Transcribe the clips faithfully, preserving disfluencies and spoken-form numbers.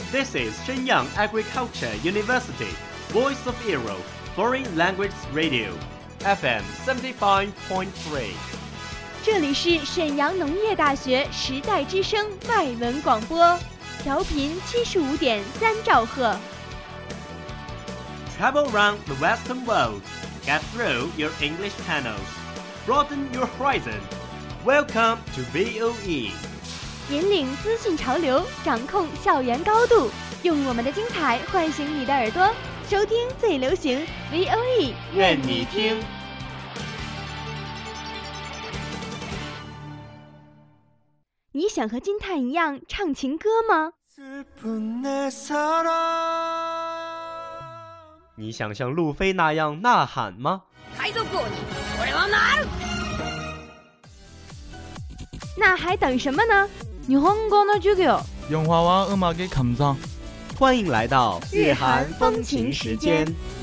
This is Shenyang Agriculture University, Voice of Europe, Foreign Language Radio, F M seventy-five point three。 这里是沈阳农业大学时代之声外文广播，调频七十五点三兆赫。 Travel around the Western world, get through your English channels, broaden your horizon. Welcome to V O E。 引领资讯潮流，掌控校园高度，用我们的精彩唤醒你的耳朵，收听最流行 V O E， 愿你听。 你想和金叹一样唱情歌吗？ 你想像路飞那样呐喊吗？ 那还等什么呢？日本語の授業。 영화와음악의감상。 欢迎来到日韩风情时间。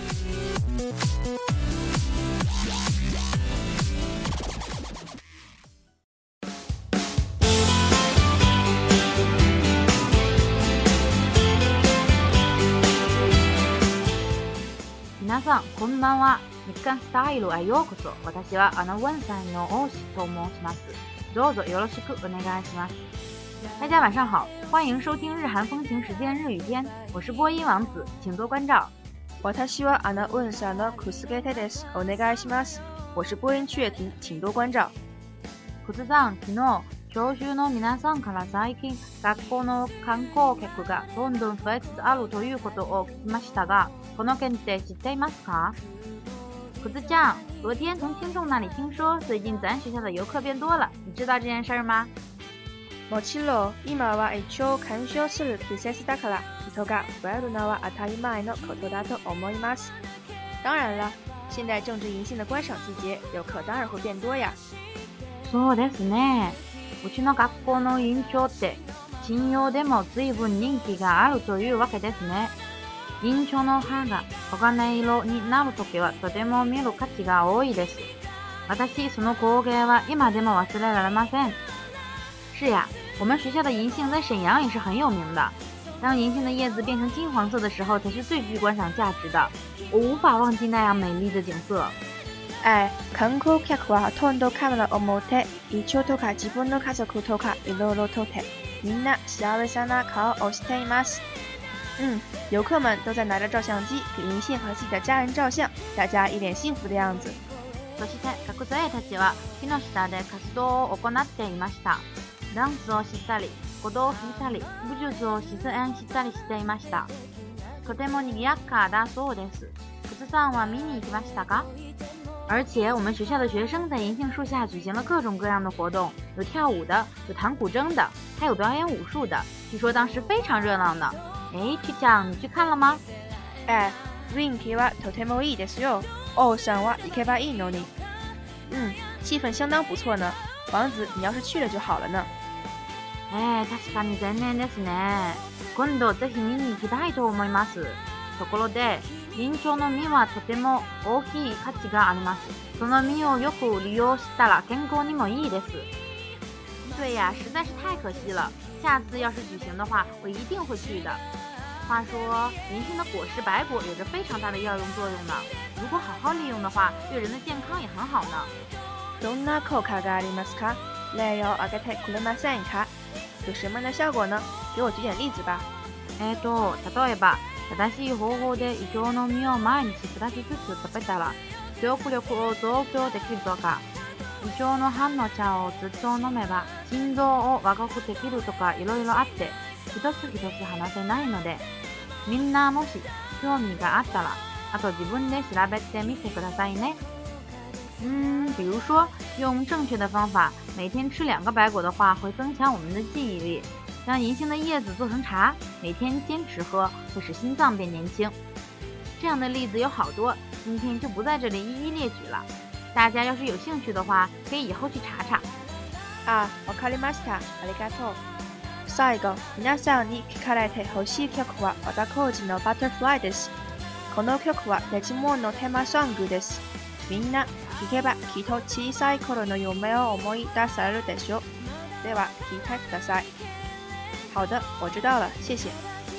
皆さんこんばんは。日韓スタイルへようこそ。私はアナウンサーの大志と申します。どうぞよろしくお願いします。大家晚上好，欢迎收听日韩风情时间日语篇，我是播音王子，请多关照。 私はアナウンサーのクスゲテです。お願いします。我是播音雀婷，请多关照。 クスさん、昨日教習の皆さんから最近学校の観光客がどんどん増えつつあるということを聞きましたが、この件って知っていますか？クスちゃん，昨天从听众那里听说，最近咱学校的游客变多了，你知道这件事吗？ もちろん、今は一応干渉する季節だから、人が増えるのは当たり前のことだと思います。当然了，现在正值银杏的观赏季节，游客当然会变多呀。 そうですね。うちの学校の院長って信用でも随分人気があるというわけですね。院長の歯が黄金色になるときはとても見る価値が多いです。私、その光景は今でも忘れられません。是呀，我们学校的银杏在沈阳也是很有名的。当银杏的叶子变成金黄色的时候，才是最具观賞价值的。我无法忘记那样美丽的景色。 哎、観光客はほとんどカメラを持ってイチョウとか自分の家族とかいろいろ撮ってみんな幸せな顔をしています。嗯，游客们都在拿着照相机给银杏和自己的家人照相，大家一脸幸福的样子。 そして学生たちは木の下で活動を行っていました。ダンスをしたり、鼓動を弾いたり、武術を実演したりしていました。とても賑やかだそうです。クツさんは見に行きましたか？而且我们学校的学生在银杏树下举行了各种各样的活动，有跳舞的，有弹古筝的，还有表演武术的，据说当时非常热闹呢。哎，去讲你去看了吗？ 哎、雰囲気はとてもいいですよ。王さんは行けばいいのに。嗯，气氛相当不错呢。王子，你要是去了就好了呢。 えー、確かに残念ですね。今度ぜひ見に行きたいと思います。ところで、銀杏の実はとても大きい価値があります。その実をよく利用したら健康にもいいです。对呀，实在是太可惜了。下次要是举行的话，我一定会去的。话说，银杏的果实白果有着非常大的药用作用呢。如果好好利用的话，对人的健康也很好呢。 どんな効果がありますか？例を挙げてくれませんか？有什么样的效果呢？给我举点例子吧。 えーと、例えば、正しい方法でイチョウの実を毎日二つずつ食べたら、記憶力を増強できるとか、イチョウの葉の茶をずっと飲めば、心臓を若くできるとかいろいろあって、一つ一つ話せないので、みんなもし興味があったら、あと自分で調べてみてくださいね。嗯，比如说用正确的方法，每天吃两个白果的话，会增强我们的记忆力。将银杏的叶子做成茶，每天坚持喝，会使心脏变年轻。这样的例子有好多，今天就不在这里一一列举了。大家要是有兴趣的话，可以以後去查查。 あ、わかりました。ありがとう。最後、皆さんに聞かれてほしい曲は和田浩司のバタフライです。この曲はデジモンのテーマソングです。みんな聞けばきっと小さい頃の夢を思い出されるでしょう。では聞いてください。好的，我知道了，谢谢。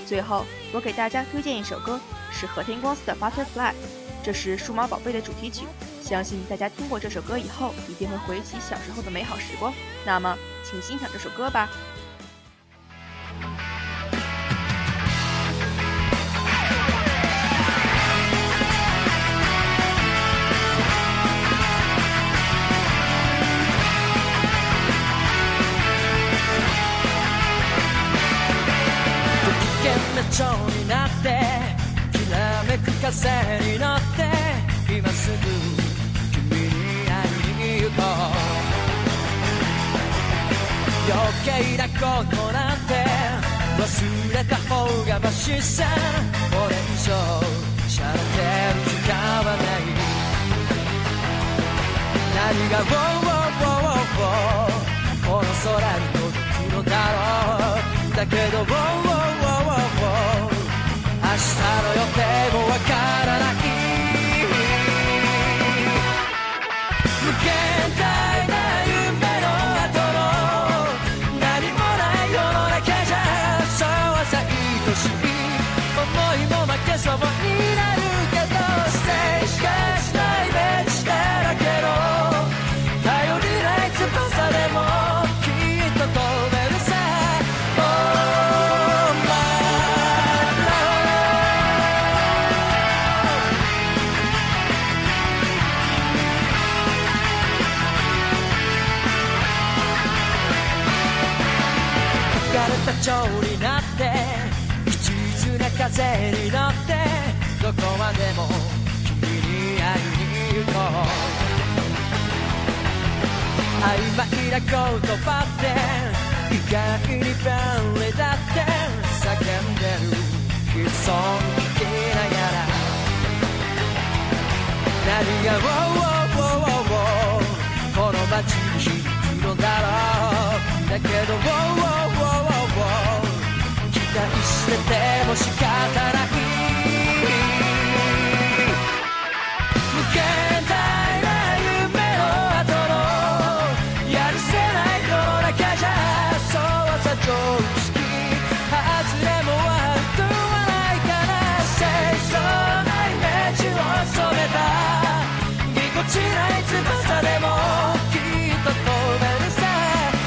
最后，我给大家推荐一首歌，是和田光司的《Butterfly》，这是数码宝贝的主题曲。相信大家听过这首歌以后，一定会回忆起小时候的美好时光。那么，请欣赏这首歌吧。 蝶になってきらめく風に乗って今すぐ君に会いに行こう余計なことなんて忘れた方がマシさこれ以上しゃれてる時間はない何が「ウォーウォーウォーウォー」この空に届くのだろうだけど「ウォーウォーウォーウォー」明日の予定もわからない無限大な夢の後の何もない世の中じゃそうはさ愛しい思いも負けそうになるけどステージがしないベンチだらけの頼りない翼でもきっと飛べるさ蝶になって一途な風に乗ってどこまでも君に会いに行こう曖昧な言葉って意外に便利だって叫んでる悲壮聞きながら何が「ウォーウォーウォーウォー」この街に響くのだろうだけど「ウォーウォーウォーウォー」期待してても仕方ない無限大な夢の後のやるせない世の中じゃそうはさ常識外れも悪くはないから清楚なイメージを染めたぎこちない翼でもきっと飛べるさ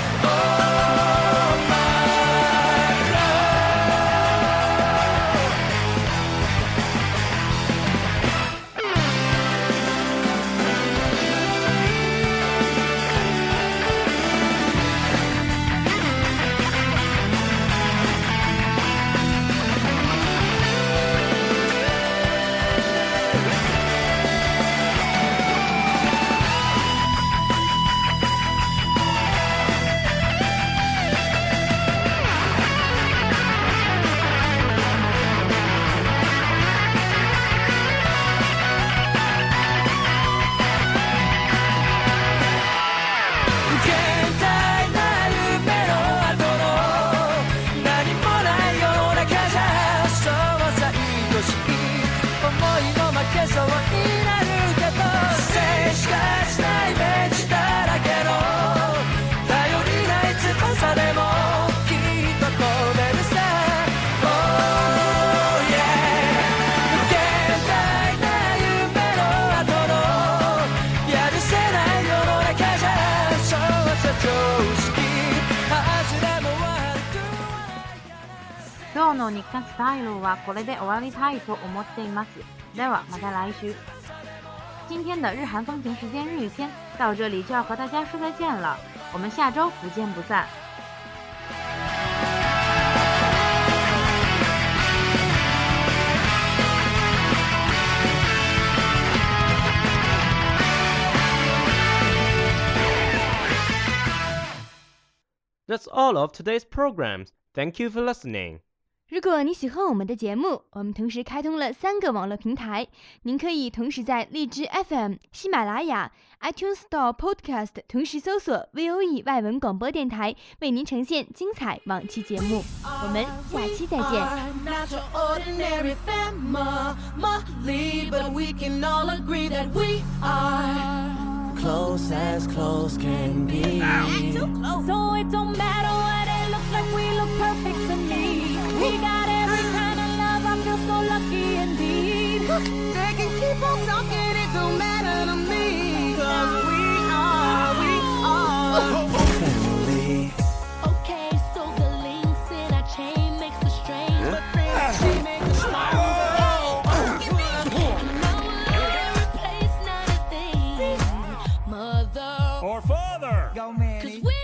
今日の日刊スタイルはこれで終わりたいと思っています。ではまた来週。今天的日韩风情时间日语篇到这里就要和大家说再见了，我们下周不见不散。 That's all of today's programs. Thank you for listening. 如果你喜欢我们的节目，我们同时开通了三个网络平台，您可以同时在荔枝 F M、喜马拉雅、iTunes Store Podcast 同时搜索 V O E 外文广播电台，为您呈现精彩往期节目。我们下期再见。 Close as close can be. Too close. So it don't matter what it looks like, we look perfect to me. We got every all talking, it don't matter to me. Cause we are, we are family. Okay, so the links in our chain makes us strange, but then she makes us stronger. And now we'll replace not a thing, mother Or father. Cause we